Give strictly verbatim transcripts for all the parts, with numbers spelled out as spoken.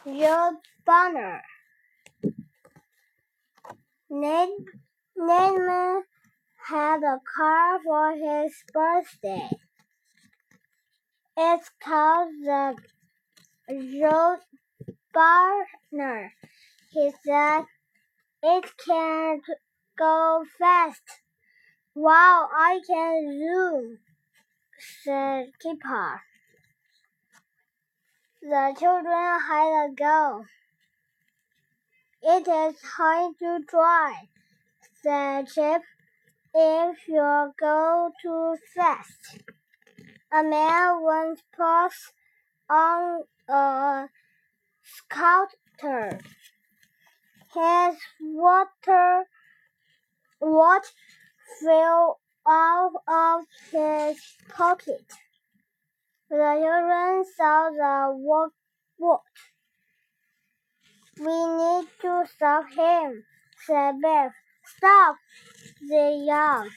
road burner. Ned had a car for his birthday. It's called the road burner. He said, it can't go fast. Wow, I can zoom, said Kipper. The children had a go. It is hard to try, said Chip, if you go too fast. A man once passed on a scooter. His water watch fell out of his pocket. The children saw the watch. We need to stop him, said Biff. Stop, they yelled.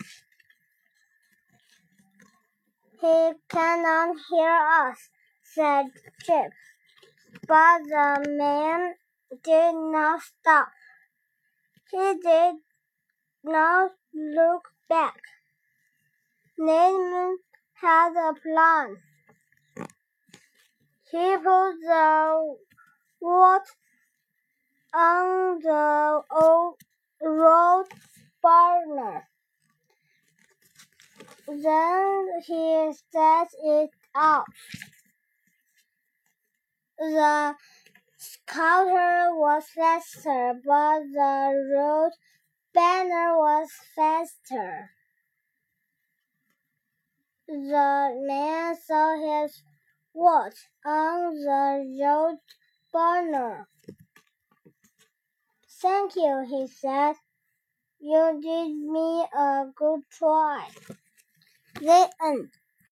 He cannot hear us, said Chip. But the man did not stop. He did not look back. Ned had a plan. He put the watch on the old road burner. Then he set it out. The scooter was faster, but the road burner was faster. The man saw his watch on the road burner. Thank you, he said. You did me a good try. The end.